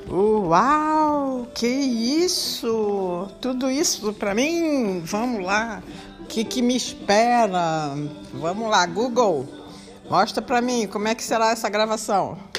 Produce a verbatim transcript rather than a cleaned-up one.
Uau, que isso? Tudo isso para mim? Vamos lá. O que que me espera? Vamos lá, Google. Mostra para mim como é que será essa gravação.